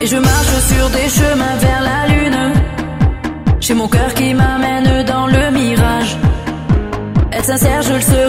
je marche sur des chemins vers la lune. J'ai mon cœur qui m'amène dans le mirage. Être sincère, je le serai.